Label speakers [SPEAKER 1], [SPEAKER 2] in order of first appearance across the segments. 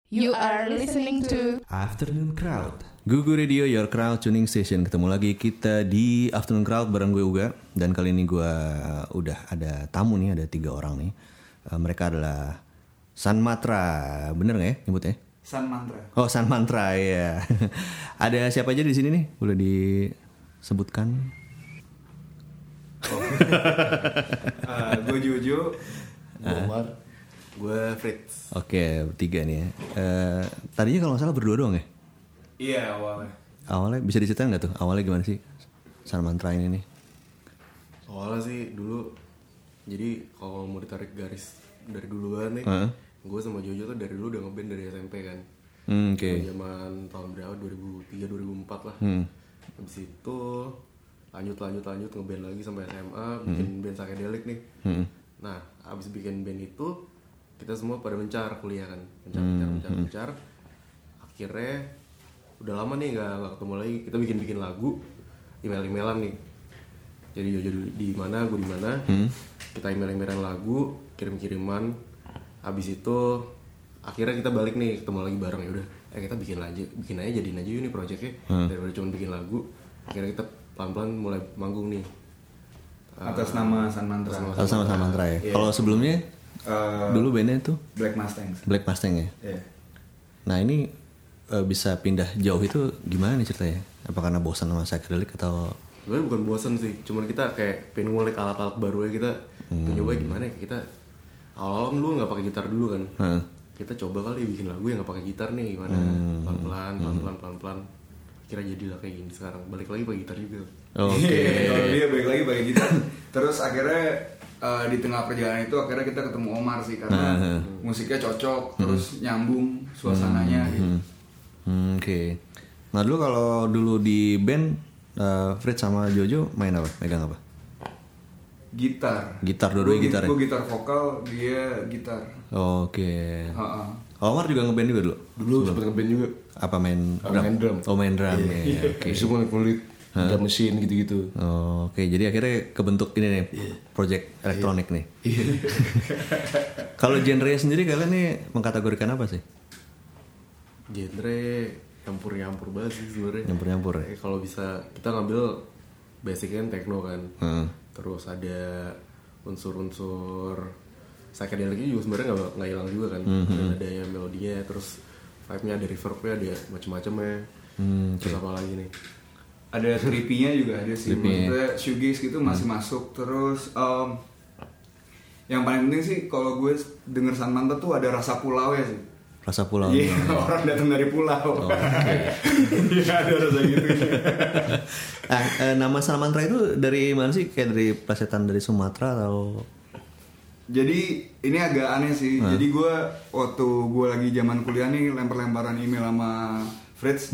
[SPEAKER 1] You are listening to
[SPEAKER 2] Afternoon Crowd. Gugu Radio, your crowd tuning station. Ketemu lagi kita di Afternoon Crowd bareng gue Uga. Dan kali ini gue udah ada tamu nih, ada 3 orang nih. Mereka adalah San Mantra, bener nggak ya nyebutnya?
[SPEAKER 3] San Mantra.
[SPEAKER 2] Oh, San Mantra ya. Ada siapa aja di sini nih? Boleh disebutkan?
[SPEAKER 3] Gue Jojo,
[SPEAKER 4] Omar, gue Fritz.
[SPEAKER 2] Oke, 3 nih ya. Tadinya kalau nggak salah berdua doang ya?
[SPEAKER 3] Iya awalnya.
[SPEAKER 2] Awalnya bisa diceritain nggak tuh? Awalnya gimana sih San Mantra ini nih?
[SPEAKER 4] Awalnya sih dulu, jadi kalau mau ditarik garis dari duluan nih, gue sama Jojo tuh dari dulu udah ngeband dari SMP kan.
[SPEAKER 2] Oke.
[SPEAKER 4] Zaman tahun berapa? 2003-2004 lah. Habis itu lanjut ngeband lagi sampai SMA, bikin band psychedelic nih. Nah, abis bikin band itu kita semua pada mencar kuliah kan, mencar. Akhirnya udah lama nih nggak ketemu lagi. Kita bikin lagu, email-emailan nih. Jadi Jojo di mana, gue di mana. Kita email-emailan lagu, kirim-kiriman. Abis itu akhirnya kita balik nih, ketemu lagi bareng. Ya udah, kita bikin aja jadiin aja yuk nih projectnya. Daripada cuma bikin lagu. Akhirnya kita pelan-pelan mulai manggung nih.
[SPEAKER 3] Atas nama San Mantra.
[SPEAKER 2] Atas nama San Mantra ya.
[SPEAKER 3] Yeah.
[SPEAKER 2] Kalau sebelumnya dulu bandnya tuh
[SPEAKER 3] Black Mustang.
[SPEAKER 2] Black Mustang ya.
[SPEAKER 3] Yeah.
[SPEAKER 2] Nah ini bisa pindah jauh itu gimana nih ceritanya? Apa karena bosan sama psychedelic atau?
[SPEAKER 4] Sebenarnya bukan bosan sih, cuman kita kayak pengen ngulik alat-alat baru ya. Kita nyoba gimana ya, kita awal-awal dulu nggak pakai gitar dulu kan. Kita coba kali bikin lagu yang nggak pakai gitar nih, gimana pelan-pelan kira jadilah kayak gini sekarang. Balik lagi pakai gitar juga.
[SPEAKER 2] Oke.
[SPEAKER 3] Kalau dia balik lagi pakai gitar. Terus akhirnya di tengah perjalanan itu akhirnya kita ketemu Omar sih karena musiknya cocok, terus nyambung suasananya gitu.
[SPEAKER 2] Oke. Nah dulu kalau dulu di band Fritz sama Jojo main apa? Megang apa?
[SPEAKER 3] Gitar.
[SPEAKER 2] Gitar, dua-duanya gitar ya?
[SPEAKER 3] Gue gitar vokal, dia gitar.
[SPEAKER 2] Oke. Omar juga ngeband juga dulu?
[SPEAKER 4] Dulu sempet ngeband juga.
[SPEAKER 2] Apa main drum?
[SPEAKER 4] Main drum.
[SPEAKER 2] Oh main drum ya. Oke.
[SPEAKER 4] Bisa ngulik drum mesin gitu-gitu.
[SPEAKER 2] Oke, jadi akhirnya kebentuk ini nih, project elektronik nih. Kalau genre sendiri kalian nih mengkategorikan apa sih?
[SPEAKER 4] Genre nyampur banget sih sebenarnya.
[SPEAKER 2] Nyampur ya.
[SPEAKER 4] Kalau bisa kita ngambil basicnya techno kan. Terus ada unsur-unsur psychedelicnya juga sebenarnya nggak hilang juga kan. Ada yang melodinya, terus vibe-nya, ada reverb-nya, ada macam-macam ya. Terus apa lagi nih?
[SPEAKER 3] Ada trippy-nya juga ada sih. Maksudnya shoegaze gitu masih masuk. Terus yang paling penting sih kalau gue denger San Mantra tuh ada rasa pulau ya sih.
[SPEAKER 2] Rasa pulau.
[SPEAKER 3] Iya, orang datang dari pulau. Iya, ada rasa gitu.
[SPEAKER 2] Nama San Mantra itu dari mana sih? Kayak dari plesetan dari Sumatera atau?
[SPEAKER 3] Jadi ini agak aneh sih. Jadi gue waktu gue lagi zaman kuliah nih lempar-lemparan email sama Fritz.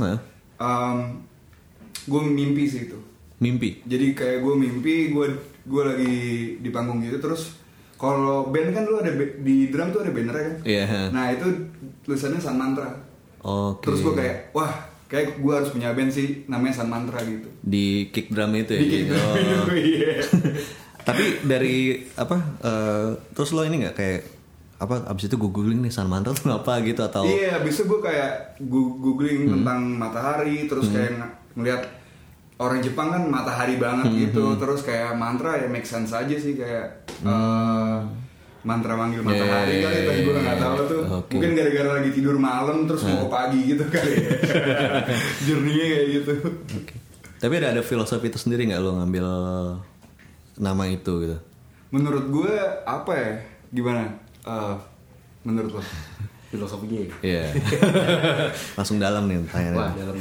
[SPEAKER 3] Gue mimpi sih itu.
[SPEAKER 2] Mimpi?
[SPEAKER 3] Jadi kayak gue mimpi gue lagi di panggung gitu. Terus kalau band kan lu ada di drum tuh ada banner kan?
[SPEAKER 2] Iya.
[SPEAKER 3] Nah itu tulisannya San Mantra.
[SPEAKER 2] Oke.
[SPEAKER 3] Terus gue kayak wah kayak gue harus punya band sih namanya San Mantra gitu.
[SPEAKER 2] Di kick drum itu ya?
[SPEAKER 3] Di kick drum itu iya.
[SPEAKER 2] Tapi dari apa? Terus lo ini nggak kayak apa? Abis itu gue googling nih San Mantra tuh apa gitu atau?
[SPEAKER 3] Iya, abis itu gue kayak googling tentang matahari, terus kayak ngeliat orang Jepang kan matahari banget gitu, terus kayak mantra ya make sense aja sih kayak mantra manggil matahari kali, tapi gue nggak tahu tuh. Mungkin gara-gara lagi tidur malam terus mau ke pagi gitu kali. Journey-nya kayak gitu.
[SPEAKER 2] Tapi ada filosofi itu sendiri nggak lo ngambil nama itu gitu?
[SPEAKER 3] Menurut gue apa ya? Gimana? Menurut lo?
[SPEAKER 4] Filosofinya.
[SPEAKER 2] Iya. Langsung dalam nih tanya.
[SPEAKER 4] Wah, dalam.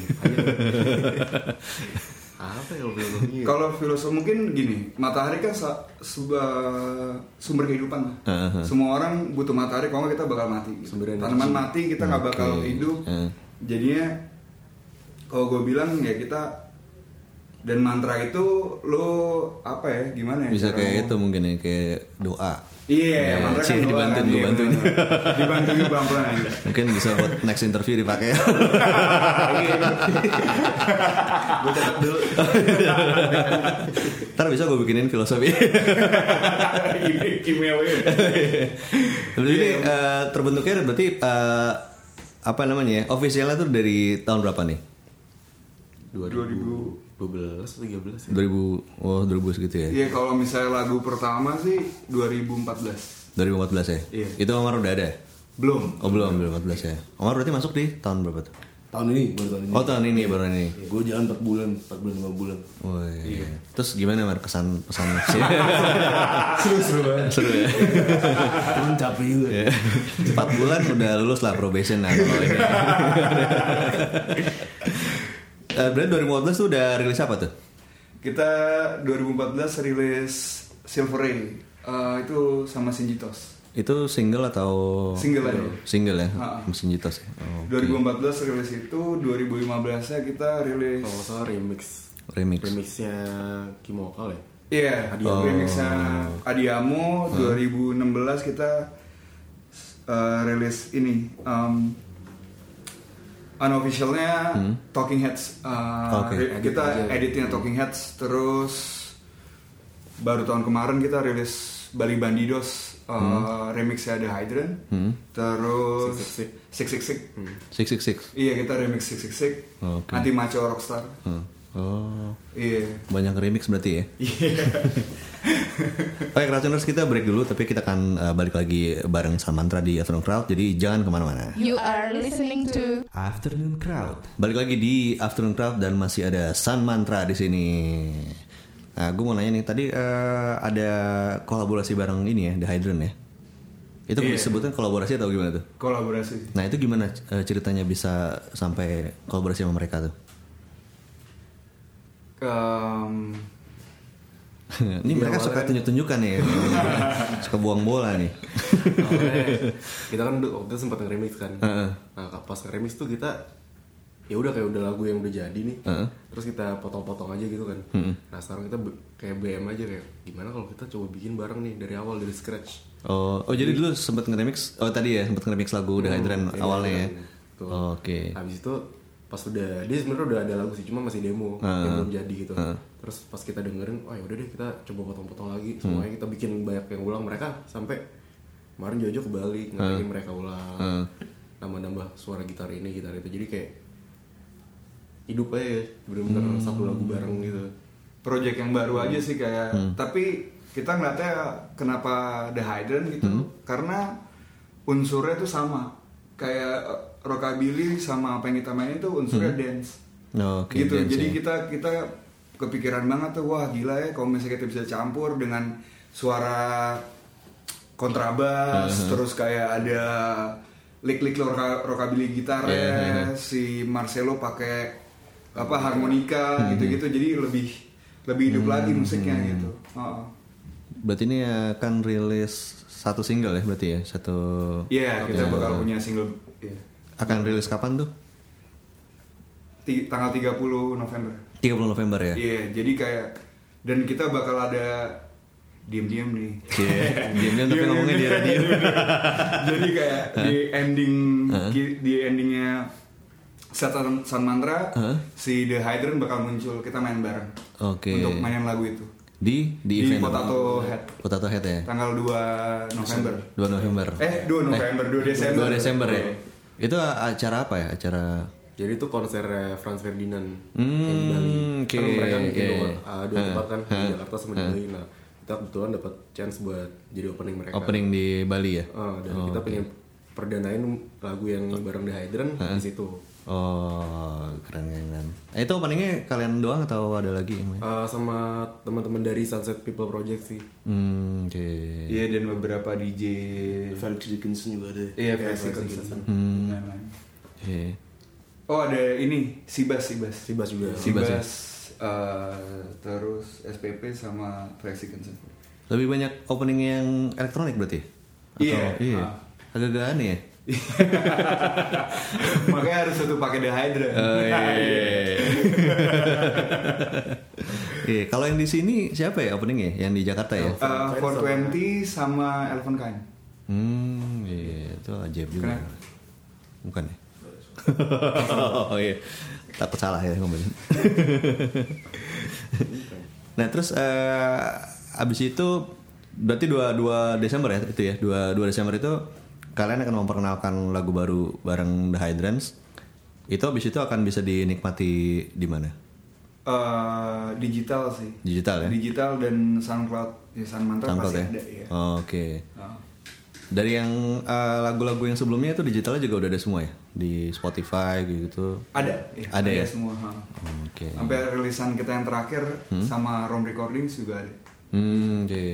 [SPEAKER 4] Apa ya filosofinya?
[SPEAKER 3] Kalau filosofi mungkin gini, matahari kan sumber kehidupan. Semua orang butuh matahari, kalau nggak kita bakal mati. Tanaman mati kita nggak bakal hidup. Jadinya kalau gue bilang ya kita. Dan mantra itu lo apa ya gimana ya?
[SPEAKER 2] Bisa kayak itu mungkin ya kayak doa.
[SPEAKER 3] Iya, mantra kan doa kan. Dibantuin pelan-pelan.
[SPEAKER 2] Mungkin bisa buat next interview dipakai.
[SPEAKER 4] Gue catat dulu.
[SPEAKER 2] Ntar bisa gue bikinin filosofi.
[SPEAKER 3] Emailnya.
[SPEAKER 2] Jadi terbentuknya berarti apa namanya ya? Officialnya tuh dari tahun berapa nih?
[SPEAKER 4] 2012 atau 13 ya?
[SPEAKER 2] 2000 segitu ya?
[SPEAKER 3] Iya, kalau misalnya lagu pertama sih 2014.
[SPEAKER 2] 2014 ya?
[SPEAKER 3] Iya.
[SPEAKER 2] Itu Omar udah ada?
[SPEAKER 3] Belum.
[SPEAKER 2] Oh belum 2014 ya? Omar berarti masuk di tahun berapa tuh?
[SPEAKER 4] Tahun ini, baru tahun ini.
[SPEAKER 2] Oh tahun ini baru ini.
[SPEAKER 4] Gue jalan 4 bulan, 5 bulan.
[SPEAKER 2] Oh iya. Terus gimana Mar kesan pesan?
[SPEAKER 3] Seru banget.
[SPEAKER 2] Seru ya?
[SPEAKER 4] Cuman capek juga.
[SPEAKER 2] 4 bulan udah lulus lah probation lah kalau ini. Berarti 2014 tuh udah rilis apa tuh?
[SPEAKER 3] Kita 2014 rilis Silver Ray. Itu sama Sinjitos.
[SPEAKER 2] Itu single atau
[SPEAKER 3] Single aja.
[SPEAKER 2] Single ya,
[SPEAKER 3] Ha-ha.
[SPEAKER 2] mesin Jitos ya. Oh,
[SPEAKER 3] 2014 rilis itu, 2015-nya kita rilis.
[SPEAKER 4] Kalau nggak salah remix. Remixnya Kimokal ya.
[SPEAKER 3] Iya,
[SPEAKER 4] Adiamo.
[SPEAKER 3] remixnya Adiamo. 2016 kita rilis ini. Unofficialnya Talking Heads.
[SPEAKER 2] Oke.
[SPEAKER 3] Kita editnya Talking Heads. Terus baru tahun kemarin kita rilis Bali Bandidos. Remixnya The Hydrant. Terus 666.
[SPEAKER 2] 666.
[SPEAKER 3] Iya, kita remix 666.
[SPEAKER 2] Oke.
[SPEAKER 3] Anti Macho Rockstar.
[SPEAKER 2] Oh,
[SPEAKER 3] Iya.
[SPEAKER 2] banyak remix berarti ya? Oke, Crowdtuners, kita break dulu, tapi kita akan balik lagi bareng Sun Mantra di Afternoon Crowd, jadi jangan kemana-mana.
[SPEAKER 1] You are listening to
[SPEAKER 2] Afternoon Crowd. Balik lagi di Afternoon Crowd dan masih ada Sun Mantra di sini. Nah, gue mau nanya nih, tadi ada kolaborasi bareng ini ya, The Hydrant ya? Itu disebutkan kolaborasi atau gimana tuh?
[SPEAKER 3] Kolaborasi.
[SPEAKER 2] Nah itu gimana ceritanya bisa sampai kolaborasi sama mereka tuh? Ini mereka suka tunjuk-tunjukkan nih, suka buang bola nih.
[SPEAKER 4] Kita kan waktu itu sempat nge-remix kan. Nah pas nge-remix tuh kita ya udah kayak udah lagu yang udah jadi nih. Terus kita potong-potong aja gitu kan. Nah sekarang kita kayak BM aja kayak gimana kalau kita coba bikin bareng nih dari awal dari scratch.
[SPEAKER 2] Oh jadi dulu sempat nge-remix. Oh tadi ya sempat nge-remix lagu The Hydrant awalnya ya. Oke.
[SPEAKER 4] Habis itu pas udah dia sebenarnya udah ada lagu sih cuma masih demo yang belum jadi gitu. Terus pas kita dengerin, oh ya udah deh kita coba potong-potong lagi. Semuanya kita bikin banyak yang ulang. Mereka sampai kemarin Jojo ke Bali ngajakin mereka ulang. Nambah-nambah suara gitar ini gitar itu. Jadi kayak hidup aja ya, bener-bener satu lagu bareng gitu.
[SPEAKER 3] Project yang baru aja sih kayak. Tapi kita ngeliatnya kenapa The Hydrant gitu? Karena unsurnya tuh sama. Kayak rockabilly sama apa yang kita mainin tuh unsurnya dance.
[SPEAKER 2] Oke,
[SPEAKER 3] gitu.
[SPEAKER 2] dance,
[SPEAKER 3] Jadi
[SPEAKER 2] ya.
[SPEAKER 3] kita kepikiran banget tuh, wah gila ya kalau misalnya kita bisa campur dengan suara kontrabas, terus kayak ada lick-lick rockabilly gitarnya, si Marcelo pakai apa harmonika gitu-gitu, jadi lebih hidup lagi musiknya gitu.
[SPEAKER 2] Berarti ini akan rilis satu single ya berarti ya? Satu.
[SPEAKER 3] Iya, kita bakal punya single. Yeah.
[SPEAKER 2] Akan rilis kapan tuh?
[SPEAKER 3] Tanggal 30 November.
[SPEAKER 2] 30 November ya?
[SPEAKER 3] Iya, jadi kayak dan kita bakal ada diam-diam nih.
[SPEAKER 2] Iya, diam-diam tapi ngomongnya di radio.
[SPEAKER 3] Jadi kayak di endingnya Sun Mantra, si The Hydrant bakal muncul, kita main bareng.
[SPEAKER 2] Oke.
[SPEAKER 3] Untuk mainin lagu itu.
[SPEAKER 2] Di event
[SPEAKER 3] Potato Head.
[SPEAKER 2] Potato Head ya?
[SPEAKER 3] Tanggal 2 November.
[SPEAKER 2] 2 November.
[SPEAKER 3] 2 November, 2 Desember.
[SPEAKER 2] 2 Desember ya? Itu acara apa ya? Acara
[SPEAKER 4] Jadi itu konser Franz Ferdinand yang di Bali.
[SPEAKER 2] Oke.
[SPEAKER 4] Kan mereka bikin dua tempat kan di Jakarta sama di Bali. Nah kita kebetulan dapat chance buat jadi opening mereka.
[SPEAKER 2] Opening di Bali ya?
[SPEAKER 4] Dan kita pengen perdanain lagu yang bareng The Hydrant di situ.
[SPEAKER 2] Oh keren. Itu openingnya kalian doang atau ada lagi yang main?
[SPEAKER 4] Sama teman-teman dari Sunset People Project sih.
[SPEAKER 2] Oke.
[SPEAKER 3] Iya, dan beberapa DJ.
[SPEAKER 4] Felix Dickinson juga ada.
[SPEAKER 3] Iya, Felix Dickinson.
[SPEAKER 2] Oke.
[SPEAKER 3] Oh, ada ini Sibas
[SPEAKER 4] juga.
[SPEAKER 3] Sibas, terus SPP sama Felix Dickinson.
[SPEAKER 2] Lebih banyak opening yang elektronik berarti?
[SPEAKER 3] Iya.
[SPEAKER 2] Agak-agak aneh ya?
[SPEAKER 3] Makanya harus satu pakai The Hydrant.
[SPEAKER 2] Iya. Kalau yang di sini siapa ya openingnya? Yang di Jakarta ya?
[SPEAKER 3] 420 sama Elephant Kind.
[SPEAKER 2] Iya, itu ajaib juga.
[SPEAKER 3] Kenapa?
[SPEAKER 2] Bukan ya? Oh iya, takut salah ya ngomongin. Nah terus abis itu berarti 2 Desember ya itu ya 2 Desember itu kalian akan memperkenalkan lagu baru bareng The Hydrants. Itu habis itu akan bisa dinikmati di mana?
[SPEAKER 3] Digital sih.
[SPEAKER 2] Digital ya?
[SPEAKER 3] Digital dan SoundCloud. Ya, San Mantra
[SPEAKER 2] SoundCloud
[SPEAKER 3] pasti
[SPEAKER 2] ya?
[SPEAKER 3] ada ya.
[SPEAKER 2] Oke. Dari yang lagu-lagu yang sebelumnya itu digitalnya juga udah ada semua ya? Di Spotify gitu?
[SPEAKER 3] Ada, ya.
[SPEAKER 2] Ada ya?
[SPEAKER 3] Semua.
[SPEAKER 2] Oke.
[SPEAKER 3] Sampai rilisan kita yang terakhir sama Rom Recordings juga ada.
[SPEAKER 2] Oke.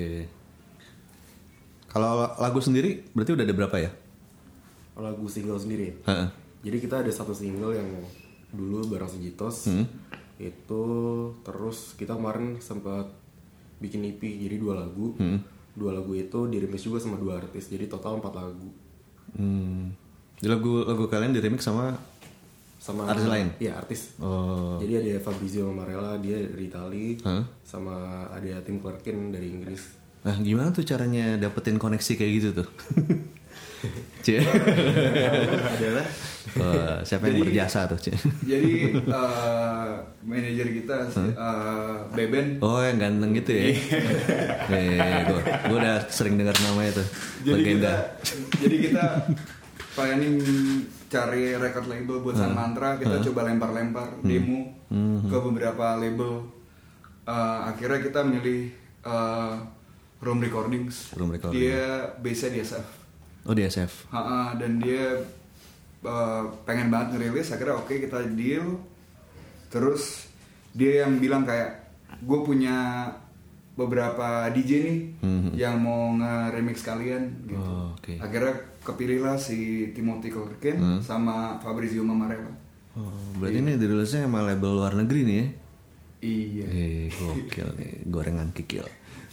[SPEAKER 2] Kalau lagu sendiri berarti udah ada berapa ya?
[SPEAKER 4] Lagu single sendiri.
[SPEAKER 2] Heeh.
[SPEAKER 4] Jadi kita ada satu single yang dulu bareng Sejitos. Itu terus kita kemarin sempat bikin EP jadi 2 lagu. 2 lagu itu di-remix juga sama 2 artis. Jadi total 4 lagu.
[SPEAKER 2] Di lagu kalian di remix sama artis lain?
[SPEAKER 4] Iya, artis.
[SPEAKER 2] Oh.
[SPEAKER 4] Jadi ada Fabrizio Marella, dia dari Itali. Sama ada Tim Clarkin dari Inggris.
[SPEAKER 2] Nah, gimana tuh caranya dapetin koneksi kayak gitu tuh? Cie.
[SPEAKER 4] Adalah
[SPEAKER 2] siapa yang berjasa tuh, Cie?
[SPEAKER 3] Jadi manajer kita Beben.
[SPEAKER 2] Oh, yang ganteng gitu ya? Gue udah sering dengar namanya tuh. Legenda.
[SPEAKER 3] Jadi kita planning cari record label buat San Mantra. Kita coba lempar-lempar demo ke beberapa label. Akhirnya kita milih Rom Recordings. Dia base-nya di SF.
[SPEAKER 2] Oh, di SF.
[SPEAKER 3] Dan dia pengen banget ngerilis. Akhirnya oke, kita deal. Terus dia yang bilang kayak, gue punya beberapa DJ nih yang mau nge-remix kalian gitu.
[SPEAKER 2] Okay.
[SPEAKER 3] Akhirnya kepilihlah si Timothy Clarkin sama Fabrizio Marella.
[SPEAKER 2] Berarti ini dirilisnya sama label luar negeri nih ya?
[SPEAKER 3] Iya.
[SPEAKER 2] Gokil nih, gorengan kikil.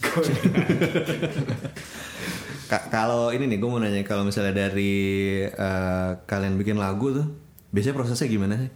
[SPEAKER 2] Kalau ini nih, gue mau nanya, kalau misalnya dari kalian bikin lagu tuh, biasanya prosesnya gimana sih?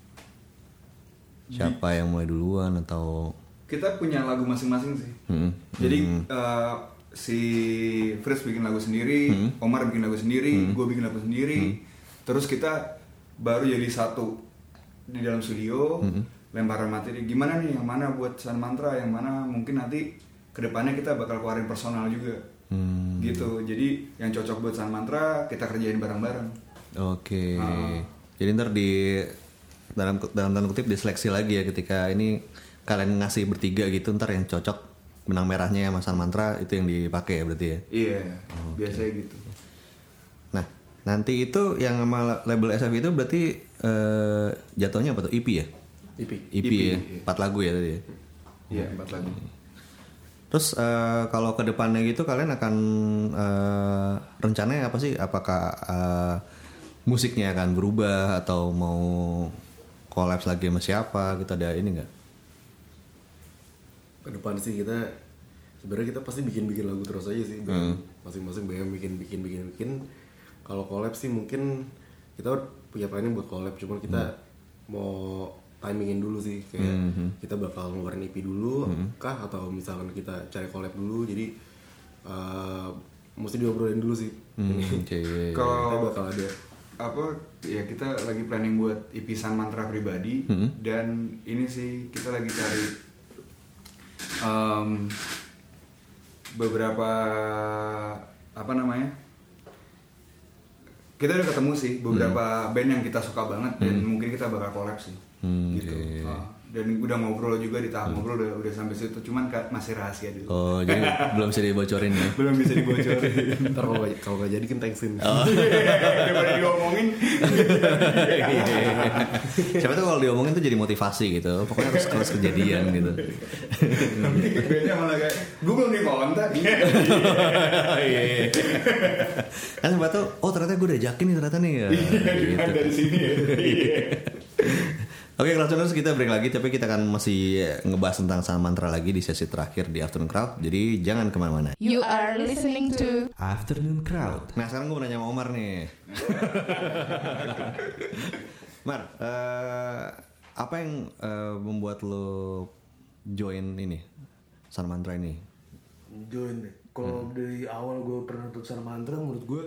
[SPEAKER 2] Siapa yang mulai duluan atau?
[SPEAKER 3] Kita punya lagu masing-masing sih. Jadi si Fritz bikin lagu sendiri, Omar bikin lagu sendiri, gue bikin lagu sendiri. Terus kita baru jadi satu di dalam studio, lemparan materi. Gimana nih, yang mana buat San Mantra, yang mana mungkin nanti kedepannya kita bakal keluarin personal juga. Gitu. Jadi yang cocok buat San Mantra kita kerjain bareng-bareng.
[SPEAKER 2] Oke. Jadi ntar di dalam tanda kutip diseleksi lagi ya, ketika ini kalian ngasih bertiga gitu, ntar yang cocok benang merahnya sama San Mantra itu yang dipakai ya berarti ya.
[SPEAKER 3] Iya, biasanya gitu.
[SPEAKER 2] Nah, nanti itu yang sama label SF itu berarti jatuhnya apa tuh? EP ya? EP ya. 4 lagu ya tadi ya.
[SPEAKER 3] Iya, 4 lagu.
[SPEAKER 2] Terus kalau ke depannya gitu kalian akan rencananya apa sih? Apakah musiknya akan berubah atau mau collab lagi sama siapa? Gitu, ada ini nggak?
[SPEAKER 4] Ke depan sih kita sebenarnya kita pasti bikin lagu terus aja sih. Masing-masing BM bikin. Kalau collab sih mungkin kita punya planning buat collab, cuman kita mau timingin dulu sih, kayak kita bakal ngeluarin EP dulu kah, atau misalkan kita cari collab dulu. Jadi mesti diobrolin dulu sih.
[SPEAKER 3] Kalau
[SPEAKER 4] kita bakal ada
[SPEAKER 3] apa ya, kita lagi planning buat EP San Mantra pribadi. Dan ini sih kita lagi cari beberapa apa namanya, kita udah ketemu sih beberapa band yang kita suka banget dan mungkin kita bakal collab sih. Gitu. Dan udah ngobrol juga, di tahap ngobrol udah sampai situ, cuman masih rahasia dulu.
[SPEAKER 2] Oh, jadi belum bisa dibocorin ya?
[SPEAKER 3] Belum bisa dibocorin.
[SPEAKER 4] Ntar kalau nggak jadi kan thanksin.
[SPEAKER 3] Daripada diomongin.
[SPEAKER 2] Siapa tuh kalau diomongin tuh jadi motivasi gitu. Pokoknya harus kejadian gitu.
[SPEAKER 3] Nanti bandnya malah kayak, gue belum dikontak.
[SPEAKER 2] Kan siapa tuh, oh ternyata gue udah ajakin nih ternyata nih ya. Gitu.
[SPEAKER 3] Dari sini ya.
[SPEAKER 2] Oke, Crowdtuners, kita break lagi, tapi kita akan masih ngebahas tentang San Mantra lagi di sesi terakhir di Afternoon Crowd. Jadi jangan kemana-mana.
[SPEAKER 1] You are listening to
[SPEAKER 2] Afternoon Crowd. Nah, sekarang gue mau nanya sama Omar nih. Mar, apa yang membuat lo join ini San Mantra ini?
[SPEAKER 5] Join deh. Kalau dari awal gue pernah nonton San Mantra, menurut gue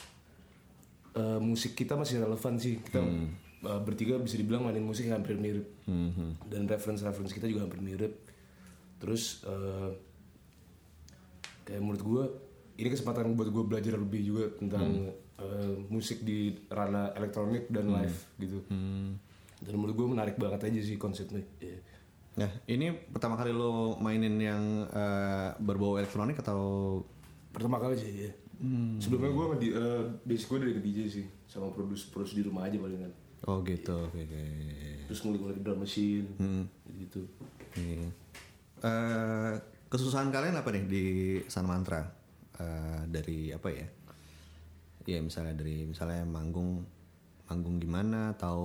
[SPEAKER 5] musik kita masih relevan sih. Kita bertiga bisa dibilang mainin musik hampir mirip, dan reference kita juga hampir mirip. Terus kayak menurut gue ini kesempatan buat gue belajar lebih juga tentang musik di ranah elektronik dan live gitu. Dan menurut gue menarik banget aja sih konsepnya. Yeah.
[SPEAKER 2] Nah, ini pertama kali lo mainin yang berbau elektronik atau
[SPEAKER 5] Pertama kali sih ya. Sebelumnya gue basic gue dari DJ sih, sama produce di rumah aja palingan.
[SPEAKER 2] Oh gitu, oke.
[SPEAKER 5] Terus ngulik-ngulik drum machine, gitu.
[SPEAKER 2] Iya. Kesusahan kalian apa nih di Sun Mantra? Dari apa ya? Ya misalnya manggung gimana atau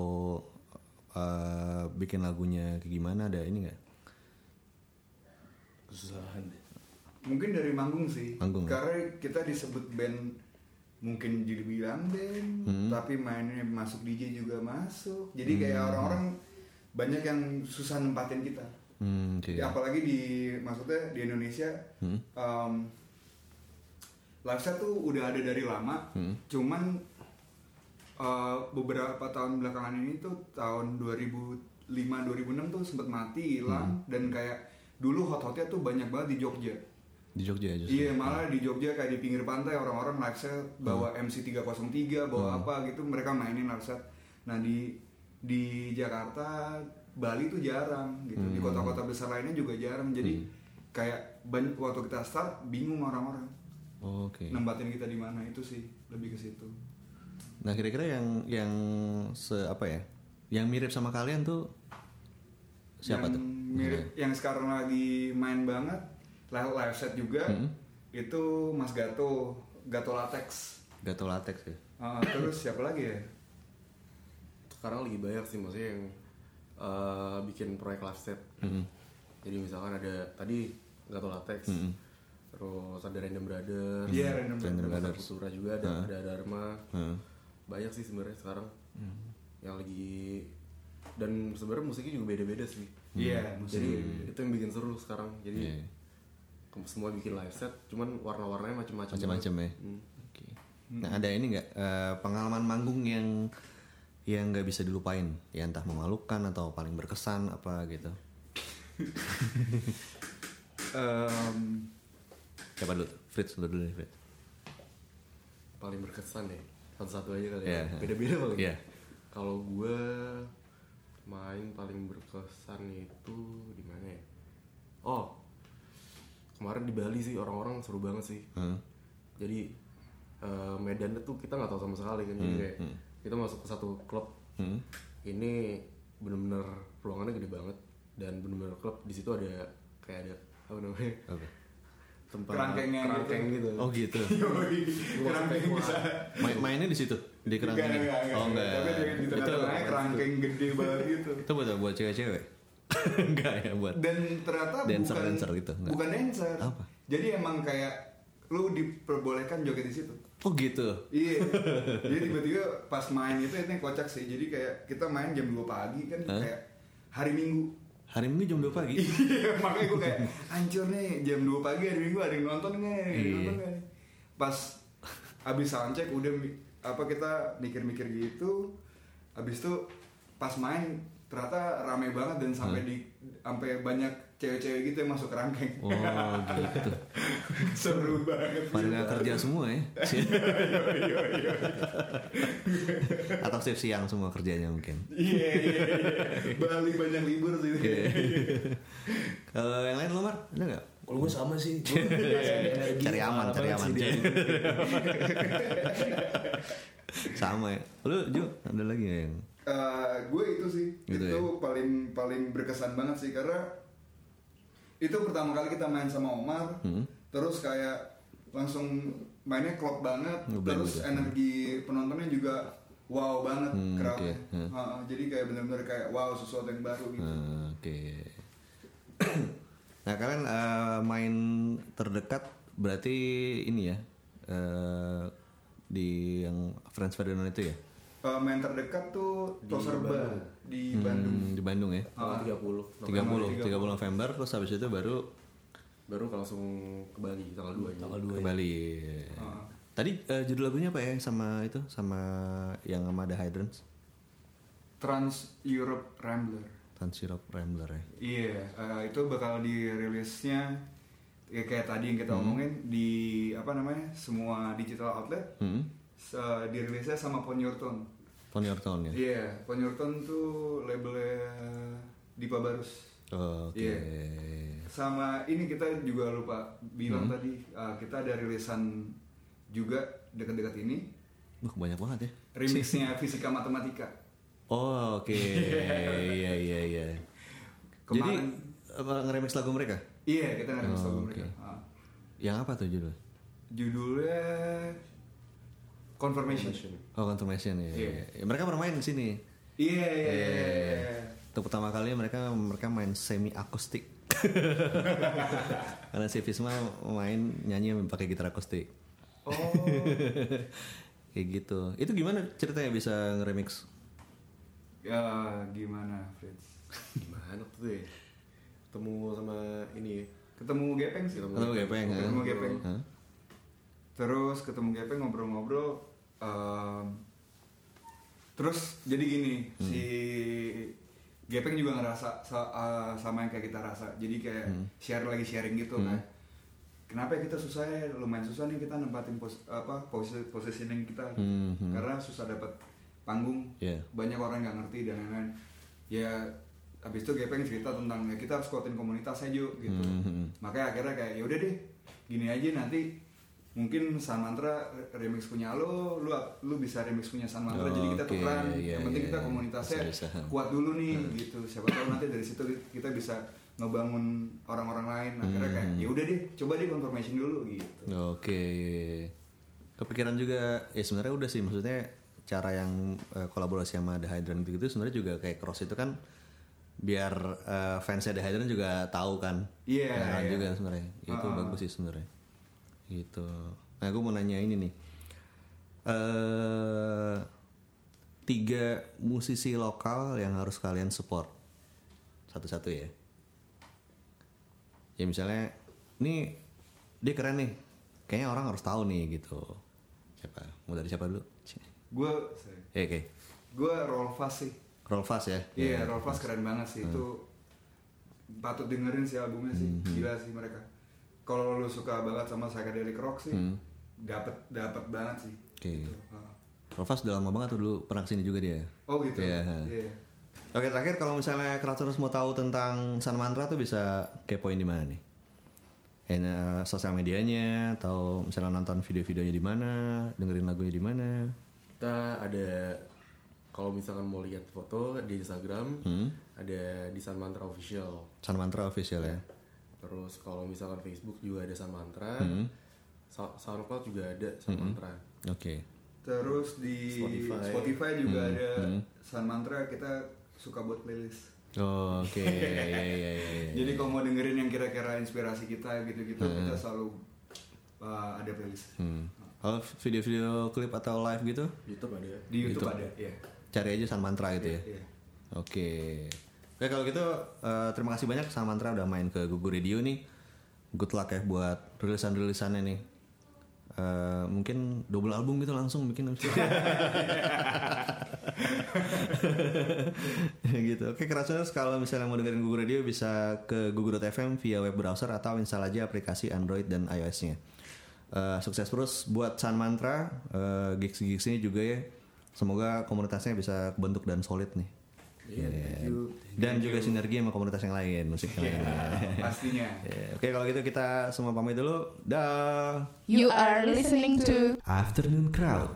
[SPEAKER 2] bikin lagunya kayak gimana, ada ini nggak?
[SPEAKER 5] Kesusahan deh.
[SPEAKER 3] Mungkin dari manggung sih. Karena kita disebut band, mungkin dibilang band, tapi mainnya masuk DJ juga masuk. Jadi kayak orang-orang banyak yang susah nempatin kita.
[SPEAKER 2] Okay.
[SPEAKER 3] Apalagi maksudnya di Indonesia, live set tuh udah ada dari lama. Cuman beberapa tahun belakangan ini tuh tahun 2005-2006 tuh sempet mati, hilang. Dan kayak dulu hot-hotnya tuh banyak banget di Jogja.
[SPEAKER 2] Di Jogja justru.
[SPEAKER 3] Iya, malah di Jogja kayak di pinggir pantai orang-orang live set bawa MC 303, bawa apa gitu, mereka mainin live set. Nah di Jakarta, Bali tuh jarang gitu. Di kota-kota besar lainnya juga jarang. Jadi kayak waktu kita start bingung orang-orang.
[SPEAKER 2] Oke.
[SPEAKER 3] Nempatin kita di mana, itu sih lebih ke situ.
[SPEAKER 2] Nah, kira-kira yang apa ya? Yang mirip sama kalian tuh siapa
[SPEAKER 3] yang
[SPEAKER 2] tuh?
[SPEAKER 3] Mirip, yang sekarang lagi main banget live set juga, itu Mas Gato Latex.
[SPEAKER 2] Gato Latex ya.
[SPEAKER 3] Terus siapa lagi ya?
[SPEAKER 4] Sekarang lagi banyak sih maksudnya yang bikin proyek live set. Jadi misalkan ada tadi Gato Latex, terus ada Random Brothers,
[SPEAKER 3] Random
[SPEAKER 4] Brothers, Futura juga ada Dharma. Banyak sih sebenarnya sekarang yang lagi, dan sebenarnya musiknya juga beda-beda sih.
[SPEAKER 3] Iya,
[SPEAKER 4] jadi itu yang bikin seru sekarang. Jadi semua bikin live set, cuman warna-warnanya macam-macam.
[SPEAKER 2] Macam-macam ya. Oke. Nah, ada ini nggak pengalaman manggung yang nggak bisa dilupain, ya entah memalukan atau paling berkesan apa gitu? Siapa dulu? Fritz dulu nih, Fritz.
[SPEAKER 4] Paling berkesan deh, satu-satu aja kali
[SPEAKER 2] Yeah.
[SPEAKER 4] ya. Beda-beda paling.
[SPEAKER 2] Yeah.
[SPEAKER 4] Kalau gue main paling berkesan itu di mana ya? Oh, kemarin di Bali sih, orang-orang seru banget sih. Jadi medannya tuh kita nggak tahu sama sekali kan. Jadi kayak kita masuk ke satu klub. Ini bener-bener ruangannya gede banget dan bener-bener klub. Di situ ada kayak ada apa namanya? Tempat kerangkeng gitu.
[SPEAKER 2] Oh gitu.
[SPEAKER 3] Kerangkeng bisa.
[SPEAKER 2] Mainnya di situ, di kerangkeng. Oh enggak.
[SPEAKER 3] Tapi di tengah-tengahnya kerangkeng gede banget gitu.
[SPEAKER 2] Itu buat cewek-cewek. Enggak ya, buat.
[SPEAKER 3] Dan ternyata
[SPEAKER 2] dancer gitu. Enggak.
[SPEAKER 3] Bukan dancer.
[SPEAKER 2] Apa?
[SPEAKER 3] Jadi emang kayak lu diperbolehkan joget di situ.
[SPEAKER 2] Oh gitu.
[SPEAKER 3] Iya. Jadi tiba-tiba pas main itu yang kocak sih. Jadi kayak kita main jam 2 pagi kan, kayak hari Minggu.
[SPEAKER 2] Hari Minggu jam 2 pagi.
[SPEAKER 3] Iya, makanya gue kayak hancur nih, jam 2 pagi hari Minggu ada yang nonton nggak? Pas abis soundcheck udah kita mikir-mikir gitu. Abis itu pas main ternyata rame banget dan sampai banyak cewek-cewek gitu yang masuk kerangkeng.
[SPEAKER 2] Oh gitu.
[SPEAKER 3] Seru banget.
[SPEAKER 2] Pada nggak kerja semua ya? Atau shift siang semua kerjanya mungkin?
[SPEAKER 3] Iya. Bali banyak libur sih.
[SPEAKER 2] Kalau yang lain lo Mar, ada nggak?
[SPEAKER 5] Kalau gue sama sih.
[SPEAKER 2] Cari aman. Sama ya. Lu Ju, ada lagi nggak yang?
[SPEAKER 3] Gue itu sih,
[SPEAKER 2] Gitu
[SPEAKER 3] itu
[SPEAKER 2] ya?
[SPEAKER 3] paling berkesan banget sih, karena itu pertama kali kita main sama Omar, terus kayak langsung mainnya klop banget, terus
[SPEAKER 2] gitu.
[SPEAKER 3] energi penontonnya juga wow banget, crowdnya.
[SPEAKER 2] Okay.
[SPEAKER 3] Jadi kayak benar-benar kayak wow, sesuatu yang baru gitu.
[SPEAKER 2] Oke. Nah kalian main terdekat berarti ini ya, di yang Franz Ferdinand itu ya?
[SPEAKER 3] Main terdekat tuh Toserba di Bandung.
[SPEAKER 2] Di Bandung ya?
[SPEAKER 4] 30
[SPEAKER 2] November, terus habis itu baru
[SPEAKER 4] langsung ke Bali tanggal 2
[SPEAKER 2] ke Bali. Tadi judul lagunya apa ya sama yang sama The Hydrants?
[SPEAKER 3] Trans Europe Rambler.
[SPEAKER 2] Trans Europe Rambler ya.
[SPEAKER 3] Iya, itu bakal dirilisnya ya kayak tadi yang kita omongin di semua digital outlet dirilisnya sama Pon Your Tone.
[SPEAKER 2] Pon Your Tone ya.
[SPEAKER 3] Iya, Pon Your Tone tuh labelnya Dipa Barus.
[SPEAKER 2] Oke.
[SPEAKER 3] Iya. Sama ini kita juga lupa bilang tadi, kita ada rilisan juga dekat-dekat ini.
[SPEAKER 2] Banyak banget ya.
[SPEAKER 3] Remixnya Fisika Matematika.
[SPEAKER 2] Oh oke. Iya. Jadi ngeremix lagu mereka?
[SPEAKER 3] Iya, kita ngeremix lagu mereka.
[SPEAKER 2] Yang apa tuh judul?
[SPEAKER 3] Judulnya Confirmation.
[SPEAKER 2] Oh Confirmation ya.
[SPEAKER 3] Iya.
[SPEAKER 2] Mereka bermain di sini.
[SPEAKER 3] Iya.
[SPEAKER 2] Untuk pertama kali mereka main semi akustik. Karena si Visma main nyanyi pakai gitar akustik.
[SPEAKER 3] Oh.
[SPEAKER 2] Kayak gitu. Itu gimana ceritanya bisa ngeremix?
[SPEAKER 3] Ya gimana, Fritz?
[SPEAKER 4] Gimana tuh ya? Ketemu sama ini.
[SPEAKER 3] Ketemu Gepeng sih.
[SPEAKER 2] Ketemu Gepeng.
[SPEAKER 3] Ketemu Gepeng. Terus ketemu Gepeng ngobrol-ngobrol. Terus jadi gini, si Gepeng juga ngerasa sama yang kayak kita rasa. Jadi kayak sharing gitu kan. Kenapa ya kita susah ya? Lumayan susah nih kita nempatin positioning kita. Karena susah dapat panggung. Banyak orang nggak ngerti dan lain-lain. Ya abis itu Gepeng cerita tentang ya kita harus kuatin komunitas aja gitu. Makanya akhirnya kayak ya udah deh, gini aja nanti mungkin Sun Mantra remix punya lu bisa remix punya Sun Mantra, jadi kita tukeran. Yang penting kita komunitasnya kuat dulu nih gitu. Siapa tahu nanti dari situ kita bisa ngebangun orang-orang lain. Akhirnya kayak ya udah deh, coba deh Confirmation dulu gitu.
[SPEAKER 2] Oke. Kepikiran juga ya sebenarnya udah sih, maksudnya cara yang kolaborasi sama The Hydran gitu sebenarnya juga kayak Cross itu kan biar fansnya The Hydran juga tahu kan. Iya. Juga sebenarnya. Itu bagus sih sebenarnya. Gitu. Nah, gue mau nanya ini nih. 3 musisi lokal yang harus kalian support. Satu-satu ya. Ya misalnya, nih dia keren nih. Kayaknya orang harus tahu nih gitu. Siapa? Mau dari siapa dulu?
[SPEAKER 3] Gue
[SPEAKER 2] Gue
[SPEAKER 3] Rolfas sih.
[SPEAKER 2] Rolfas ya?
[SPEAKER 3] Iya, Rolfas keren banget sih. Itu patut dengerin sih albumnya sih. Gila sih mereka. Kalau lu suka banget sama psychedelic rock sih, dapat banget sih.
[SPEAKER 2] Oke. Gitu. Rolfas udah lama banget tuh dulu, pernah kesini juga dia.
[SPEAKER 3] Oh gitu.
[SPEAKER 2] Iya. Oke, terakhir kalau misalnya Kratoners mau tahu tentang Sun Mantra tuh bisa kepoin di mana nih? Sosial medianya atau misalnya nonton video-videonya di mana, dengerin lagunya di mana?
[SPEAKER 4] Kita ada, kalau misalkan mau lihat foto di Instagram, ada di Sun Mantra Official.
[SPEAKER 2] Sun Mantra Official ya.
[SPEAKER 4] Terus kalau misalkan Facebook juga ada Sun Mantra, SoundCloud juga ada Sun Mantra.
[SPEAKER 2] Oke.
[SPEAKER 3] Terus di Spotify juga ada Sun Mantra, kita suka buat playlist.
[SPEAKER 2] Oh, oke. Iya.
[SPEAKER 3] Jadi kalau mau dengerin yang kira-kira inspirasi kita gitu-gitu, kita selalu ada playlist.
[SPEAKER 2] Kalau video-video klip atau live gitu?
[SPEAKER 4] YouTube ada.
[SPEAKER 3] Di YouTube ada, iya.
[SPEAKER 2] Cari aja Sun Mantra gitu ya.
[SPEAKER 3] Iya.
[SPEAKER 2] Oke, kalau gitu terima kasih banyak Sun Mantra udah main ke Gugu Radio nih. Good luck ya buat rilisan-rilisannya nih. Mungkin double album gitu langsung bikin. Gitu. Oke, Kratoners kalau misalnya mau dengerin Gugu Radio bisa ke gugu.fm via web browser atau install aja aplikasi Android dan iOS-nya. Sukses terus buat Sun Mantra, gigs-gigsnya juga ya. Semoga komunitasnya bisa kebentuk dan solid nih. Dan juga sinergi sama komunitas yang lain, musik yang lain.
[SPEAKER 3] Pastinya.
[SPEAKER 2] Oke, kalau gitu kita semua pamit dulu. Dah.
[SPEAKER 1] You are listening to
[SPEAKER 2] Afternoon Crowd.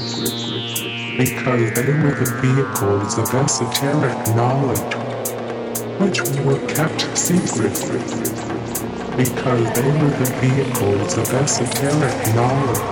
[SPEAKER 6] because they were the vehicles of esoteric knowledge, which were kept secret, because they were the vehicles of esoteric knowledge.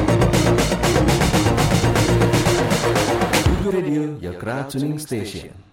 [SPEAKER 2] Tuning Station.